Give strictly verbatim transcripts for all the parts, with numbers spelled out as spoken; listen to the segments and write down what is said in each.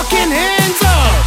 fucking hands up.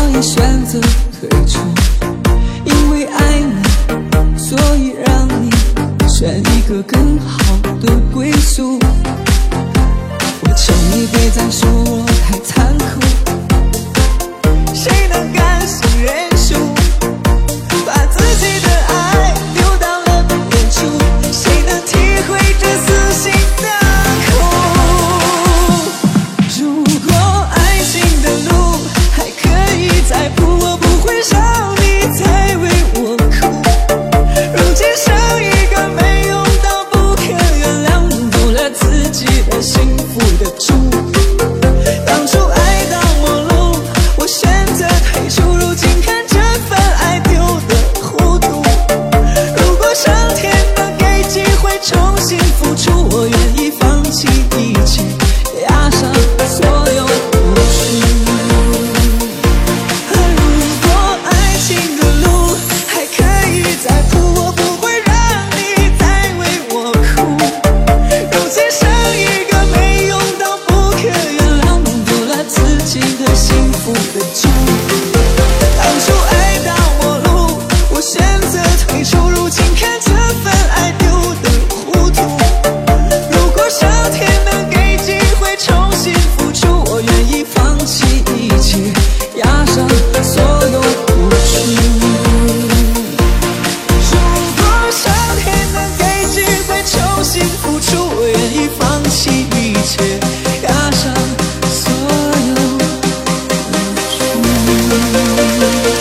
也选择退出，因为爱你，所以让你选一个更好的归宿。我求你别再说我太残酷，谁能甘心认输，把自己的爱丢到了远处，谁能体会这撕心的苦？如果爱情的路还可以再铺，我不会让你再为我哭。如今剩一个没用到不可原谅，弄丢了自己的幸福的主。当初爱到末路，我选择退出，如今看这份爱丢得糊涂。如果上天能给机会重新付出，我愿意放弃一切，押上所有付出。如果爱情的路还可以再铺，我不会让你再为我哭。如今剩一个没用到不可原谅，弄丢了自己的幸福的主。当初爱到末路，我选择退出，如今看这份爱丢得糊涂。如果上天能给机会重新付出，我愿意放弃一切，押上所有付出。如果上天能给机会重新付出，我愿意放弃一切，押上所有付出。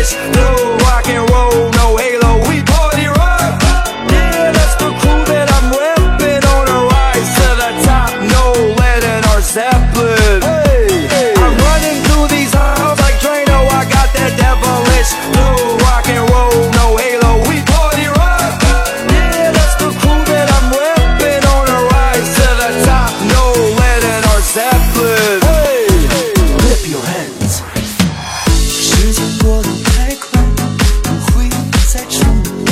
devilish blue. Rock and roll, no halo, we party rock. Yeah, that's the crew that I'm repping on a rise to the top. No lead in our Zeppelin. Hey, hey. I'm running through these halls like Drano. I got that devilish blue. Rock and roll, no halo, we party rock. Yeah, that's the crew that I'm repping on a rise to the top. No lead in our Zeppelin. Hey, clap your hands. 时间过得太快，不会再重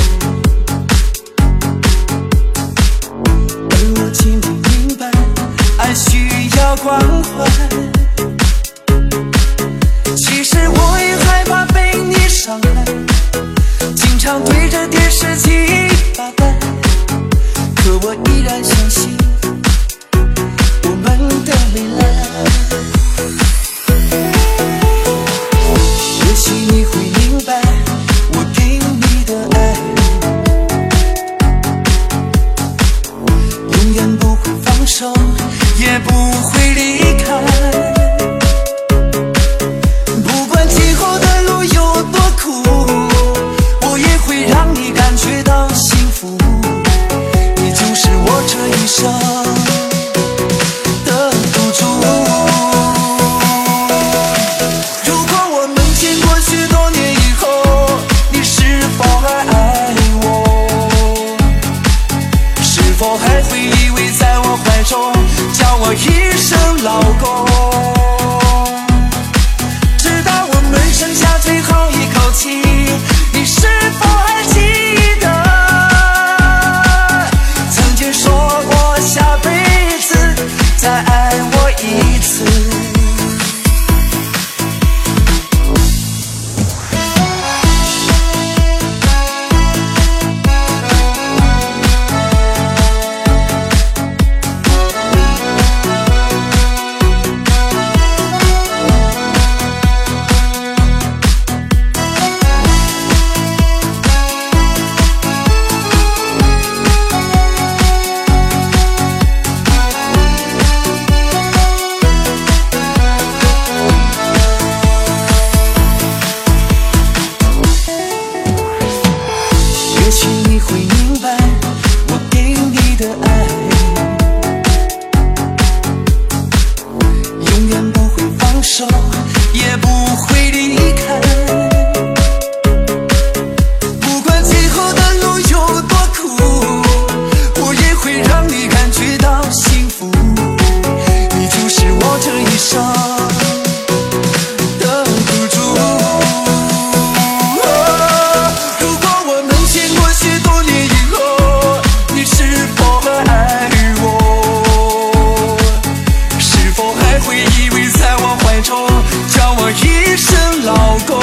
而我渐渐明白，爱需要关怀。其实我也害怕被你伤害，经常对着电视机发呆，可我依然相信我们的未来。也许你会明白我给你的爱永远不会放手，也不会离开。不管今后的路有多苦，我也会让你感觉到幸福。你就是我这一生的赌注。如果我们见过许多年以后，你是否还爱我？是否还会依偎在我怀中，叫我一声老公？直到我们剩下最后一口气，你是否还记得曾经说过下辈子再爱我一次？也许你会明白我给你的爱永远不会放手，也不会离开。不管今后的路有多苦，我也会让你感觉到幸福。你就是我这一生的赌注。如果我们见过许多年以后，你是否还爱我？是否还会依偎在我怀中，叫我一声老公？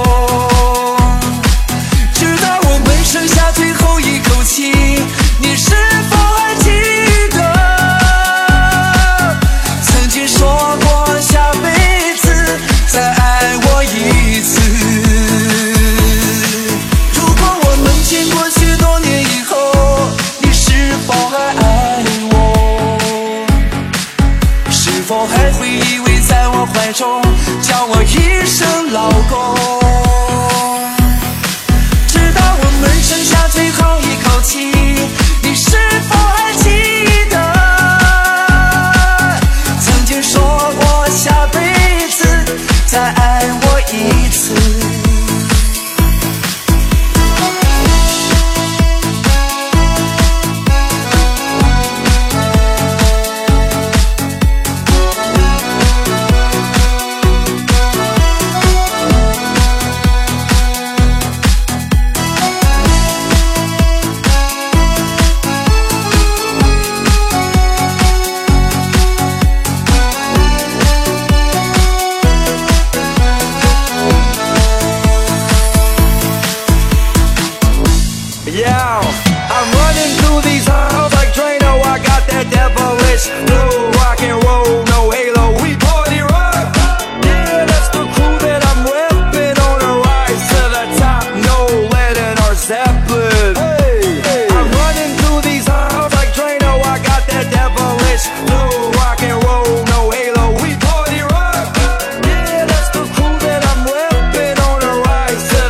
直到我们剩下最后一口气，你是否还记得曾经说过下辈子再爱我一次？如果我们见过许多年以后，你是否还爱我？是否还会依偎在我怀中，叫我一声老公？直到我们剩下最后一口气，你是否还记得曾经说过下辈子再爱我一次？ Yeah, I'm running through these halls like Drano. I got that devilish blue. Rock and roll, no halo, we party rock. Yeah, that's the crew that I'm repping on a rise to the top. No lead in our Zeppelin. Hey, hey. I'm running through these halls like Drano. I got that devilish blue. Rock and roll, no halo, we party rock. Yeah, that's the crew that I'm repping on a rise to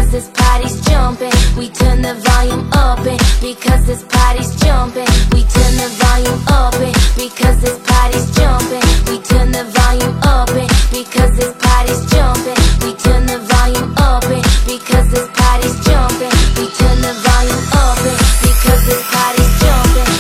because this party's jumping. We turn the volume up and because this party's jumping. We turn the volume up and because this party's jumping. We turn the volume up and because this party's jumping. We turn the volume up and because this party's jumping. We turn the volume up and because this party's jumping.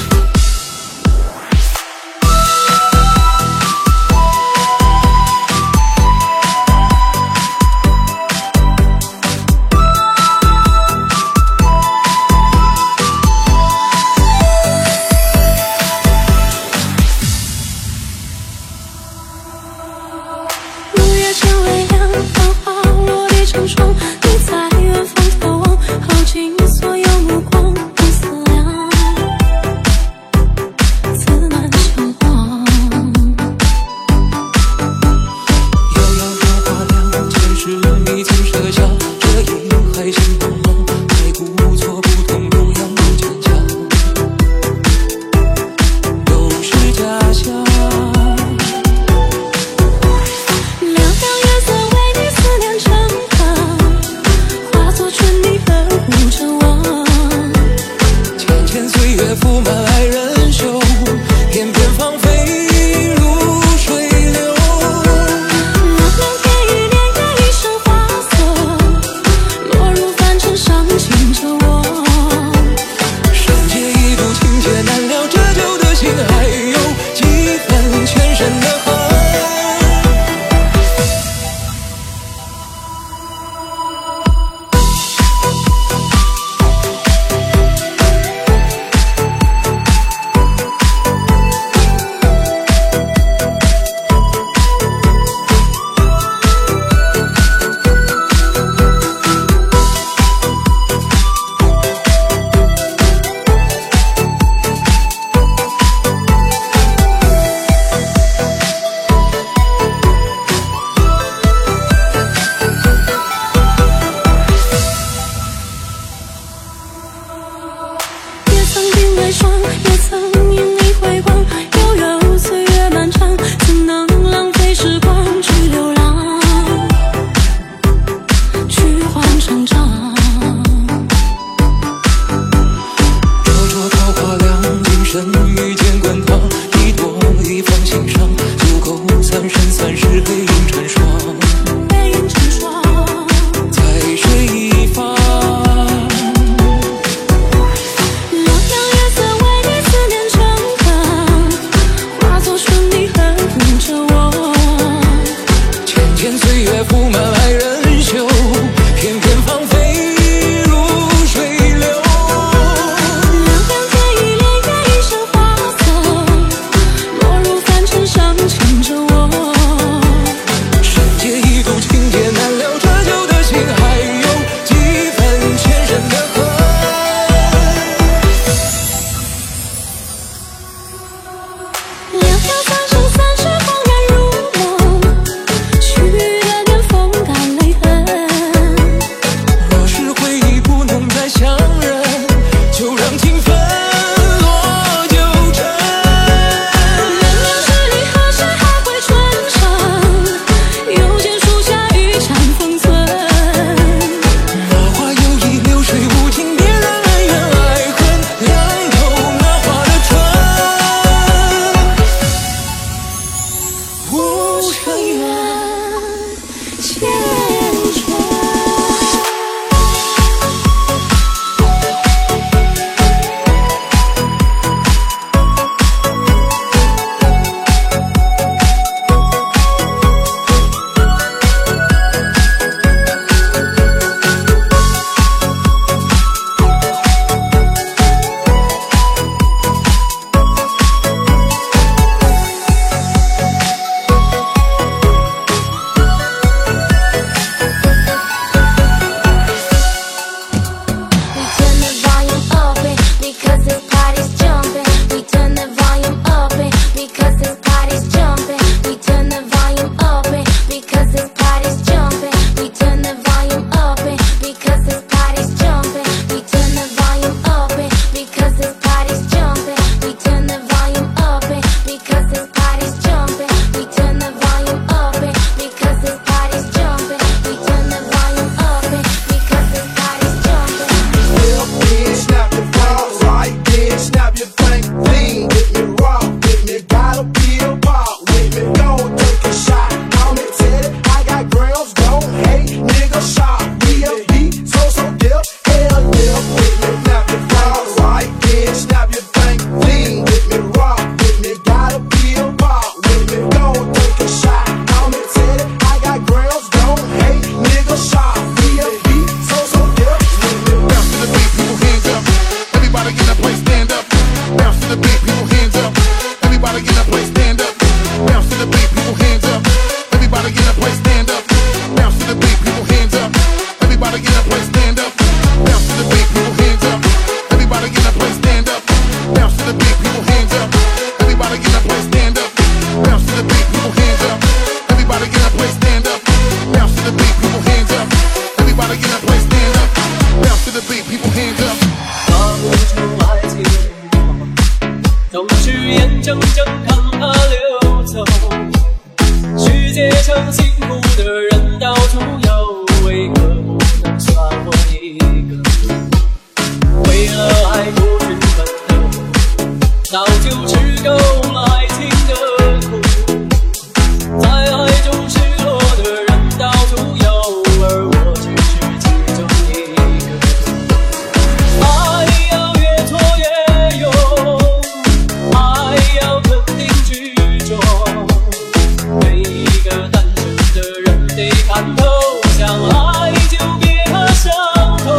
怔怔看它流走。世界上幸福的人到处有，为何不能算我一个？为了爱不去奋斗，早就吃够了爱情的苦。在爱中失落的人到处有，而我只是其中一个。爱要越挫越勇，爱要肯定执着。每一个单身的人得看透，想爱就别怕伤痛。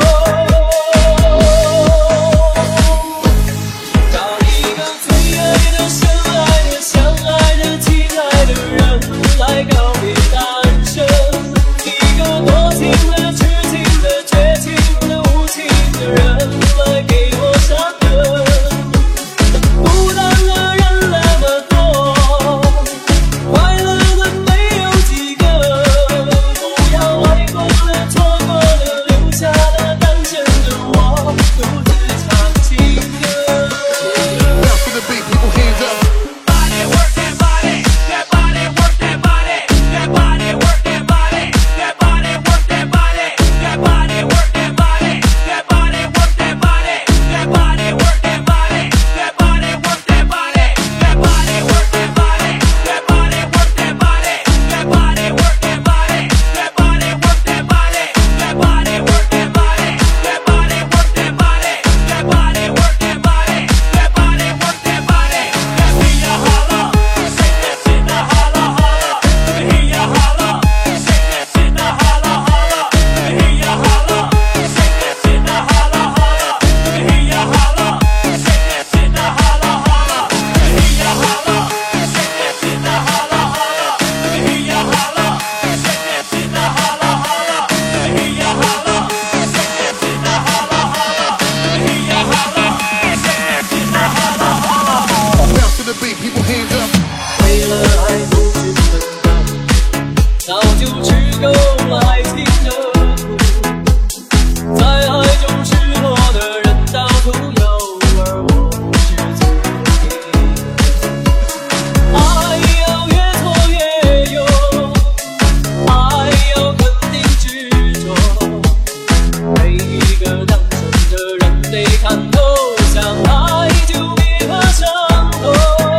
找一个最爱的、深爱的、相爱的、亲爱的人来告别单身，一个多情的、痴情的、绝情的、无情的人来给我伤痕。孤单的人那么多，快乐的没有几个，不要爱过了、错过了，留下了单身的我，独自唱情歌。 Bounce to the beat, people hands up. Body work that body, that body work that body, that body work that body, that body work that body, that body work that body, that body work that body, that body work that body, that body work that body, that body work that body, that body work that body, that body work that body, that body work that body, that body work that body, that body work that body, that body work that body, that body work that body. Let me hear ya holla, shake that shit now holla holla. Let me hear ya holla, shake that shit now holla holla. Let me hear ya holla, shake that shit now holla holla. Let me hear ya holla, shake that shit now holla holla. Let me hear ya holla, shake that shit now holla holla. Let me hear ya holla, shake that shit now holla holla. Let me hear ya holla, shake that shit now holla holla. Let me hear ya holla, shake that shit now holla holla. Bounce to the beat, people hands up. 为了爱不去奋斗，早就吃够了爱情的苦。在爱中失落的人到处有，而我是最后一个。爱要越挫越勇，爱要肯定执着。每一个单身的人得看透，想爱就别怕伤痛。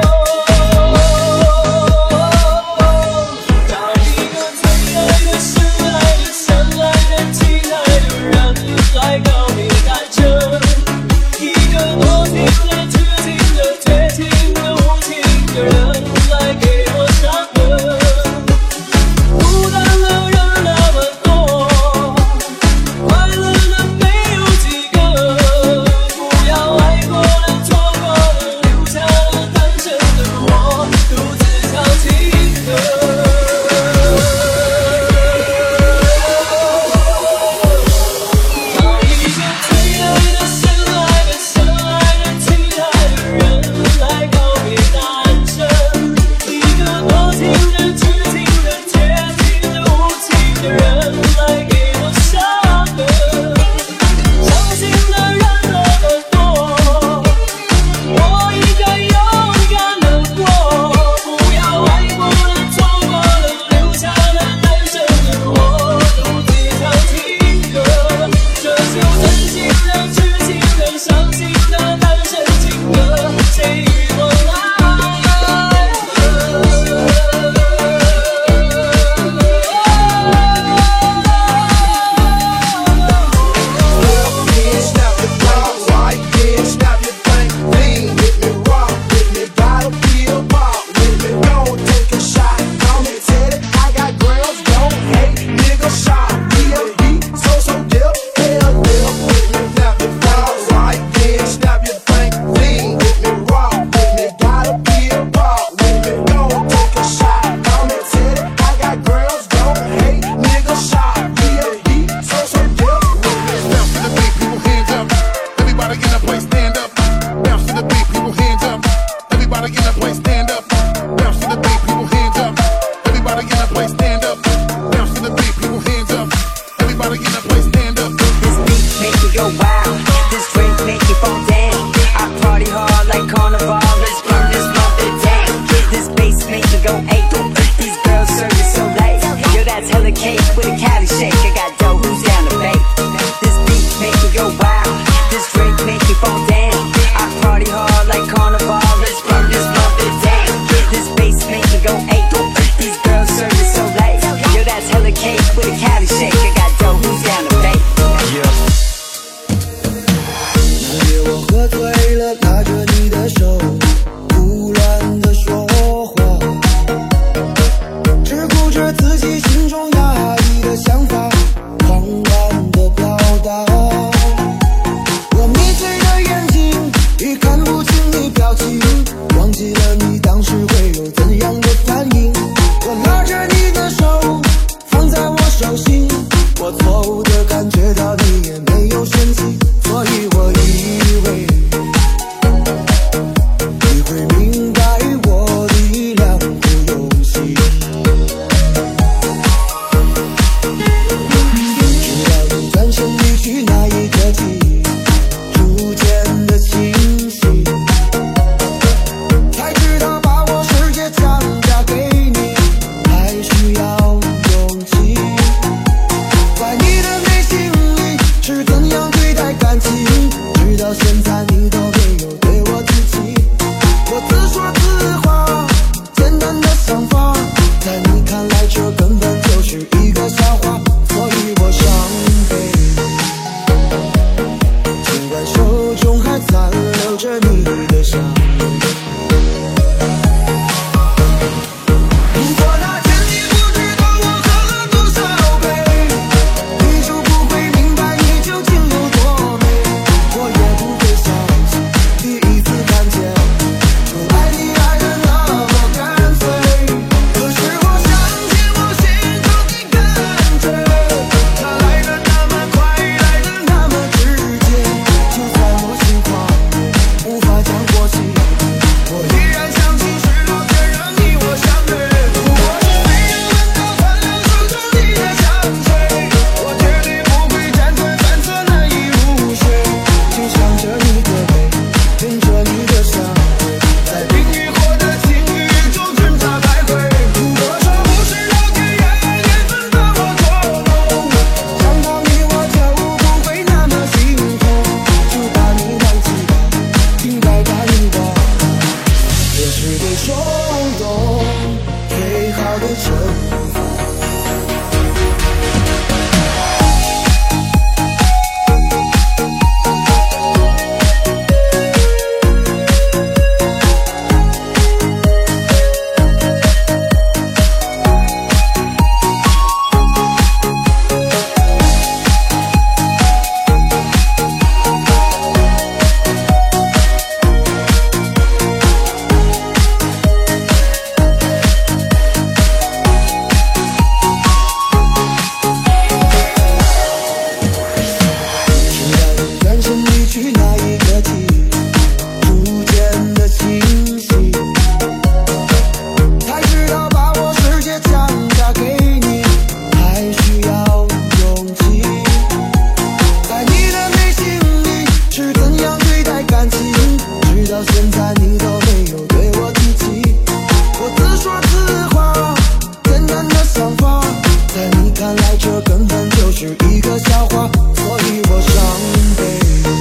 找一个最爱的、深爱的、相爱的、亲爱的人来告别单身，一个多情的、痴情的、绝情的、无情的人来给我伤痕。孤单的人那么多，快乐的没有几个，不要爱过了、错过了，留下了单身的我，独自唱情歌。找一个最爱的、深爱的、相爱的、亲爱的人来告别单身，一个多情的、痴情的、绝情的、无情的人来给我伤痕。伤心的人那么多，我应该勇敢地过，不要爱过了、错过了，留下了单身的我，独自唱情歌。这首真心的、痴情的、伤心的单身情歌，谁与我来和？ Yeah, snap your thing, right? Yeah, snap your thing, lean with me, rock with me, battlefield pop with me. Don't take a shot, I'm headed. I got girls, don't hate, nigga shot. We a beat, so so dip, hell dip with me, snap your thing, right? Yeah, snap your thing, lean with me, rock with me, battlefield pop with me. Don't take a shot, I'm headed. I got girls, don't hate, nigga shot. We a beat, so so dip with me. Bounce to the beat, people hands up. Everybody in the place stand up. Bounce to the beat, people hands up. Everybody in the place stand up. Bounce to the beat, people hands up. Everybody in the place stand up. Bounce to the beat, people hands up. Everybody in the place stand up. This beat make you go wild. This drink make you fall down. I party hard like carnival. Let's burn this month. 到现在你都没有对我提起。我自说自话，简单的想法，在你看来这根本就是一个笑话，所以我伤悲。尽管手中还残留着你的香味。如果那天你不知道我喝了多少杯，你就不会明白你究竟有多美。我也不会相信第一次看见不爱你爱得那么干脆。可是我相信我心中的感觉，它来得那么快，来得那么直接。就算我心慌，无法将过去，我依然相信是老天让你我相对。如果是没有闻到换了手中你的香水，我绝对不会辗转反侧难以入睡。就想着你的美，闻着你的香味，在冰与火的情侣中挣扎徘徊。如果说不是老天爷缘分把我捉弄，想到你我就不会那么心痛。就把你忘记吧，应该答应吧，这是对冲动最好的惩罚。转身离去那一刻起，逐渐的清晰，才知道把我世界强加给你，还需要勇气。在你的内心里是怎样对待感情，直到现在你都没有对我提起。我自说自话，简单的想法，在你看来这根本就是一个笑话，所以我伤悲。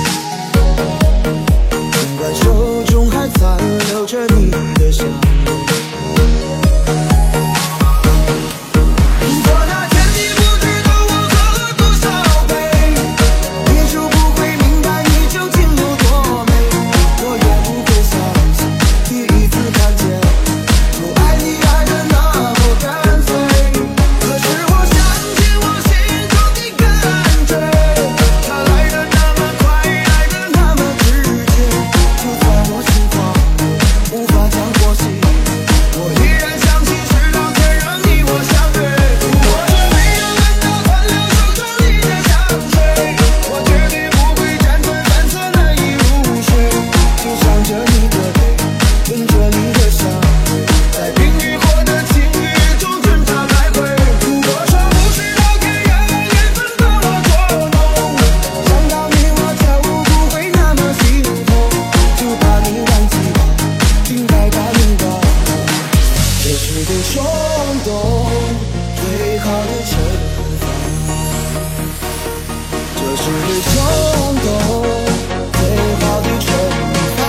尽管手中还残留着你的香味。如果那天你不知道我喝了多少杯，你就不会明白你究竟有多美。我也不会相信第一次看见不爱你爱得那么干脆。可是我相信我心中的感觉，它来得那么快，来得那么直接。就算我心慌，无法将过去，我依然相信是老天让你我相对。如果是没有闻到换了手中你的香水，我绝对不会辗转反侧难以入睡。就想着你的美，闻着你的香味，在冰与火的情侣中挣扎徘徊。如果说不是老天爷缘分把我捉弄，想到你我就不会那么心痛。就把你忘记吧，应该答应吧，这是对冲动最好的惩罚。这是对冲动最好的惩罚。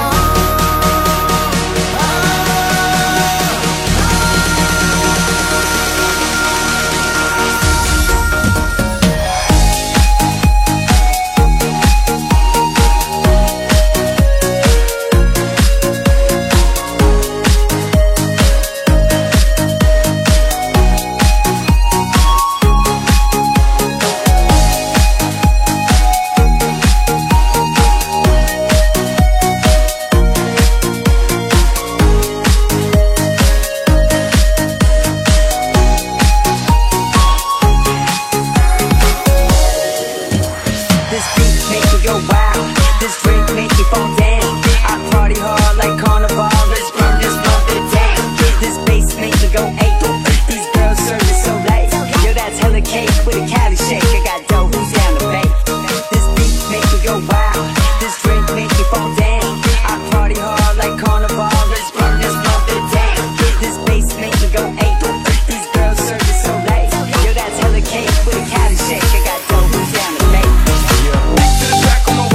This beat make you go wild. This drink make you fall down. I party hard like carnival. Let's burn this mother down. This bass make you go ape. These girls serving so late. Yo, that's hella cake with a Cali shake. I got dough, who's down to bake? This beat make you go wild. This drink make you fall down. I party hard like carnival. Let's burn this mother down. This bass make you go ape. These girls serving so late. Yo, that's hella cake with a Cali shake. I got dough, who's down to bake? Back to the track, I'm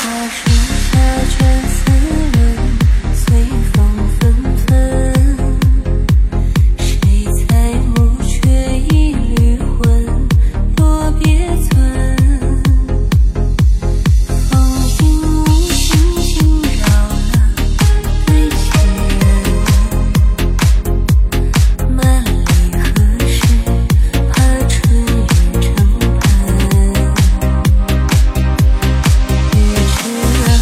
越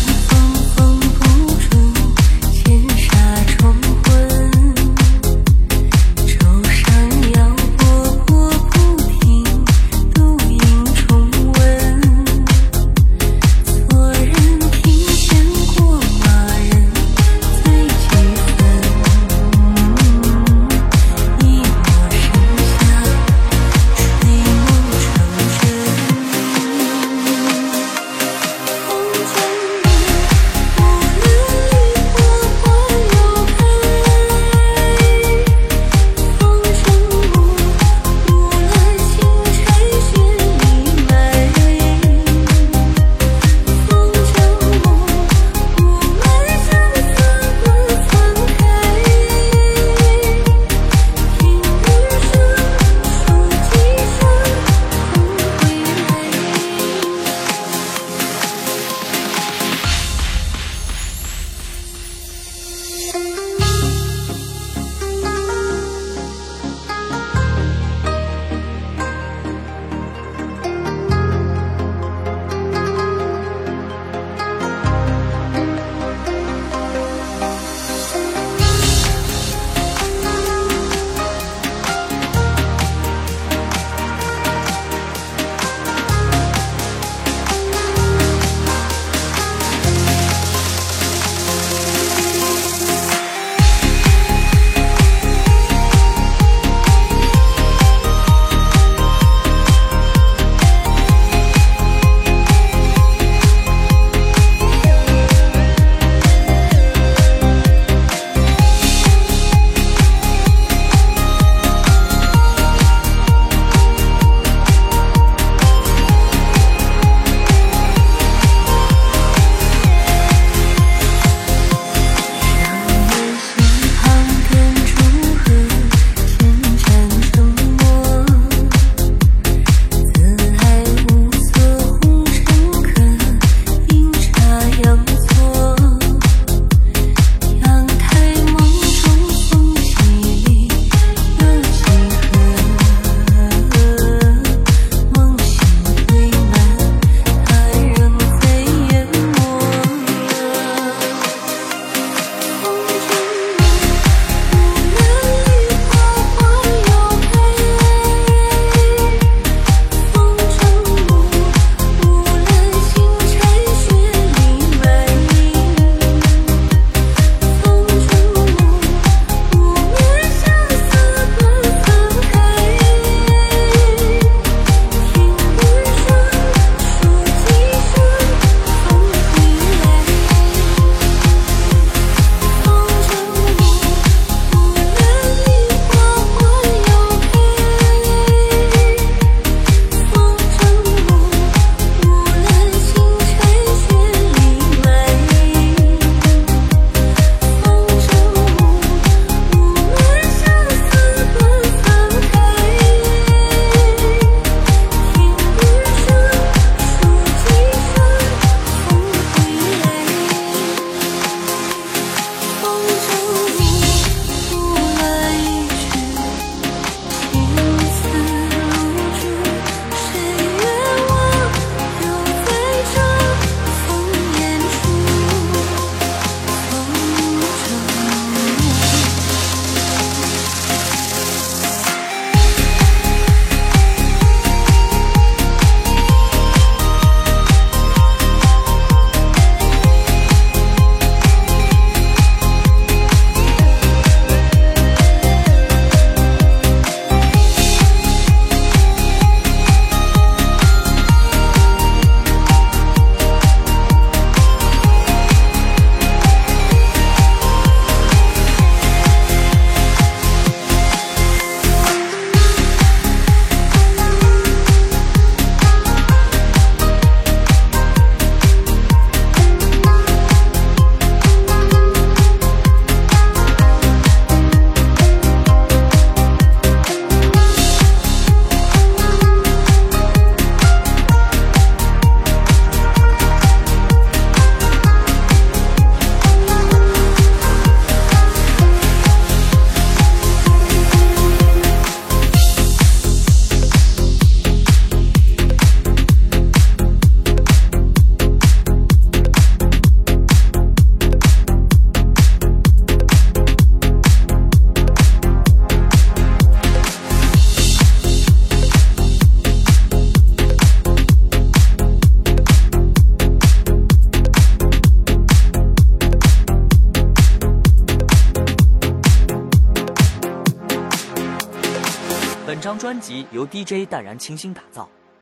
本张专辑由 D J 淡然倾心打造。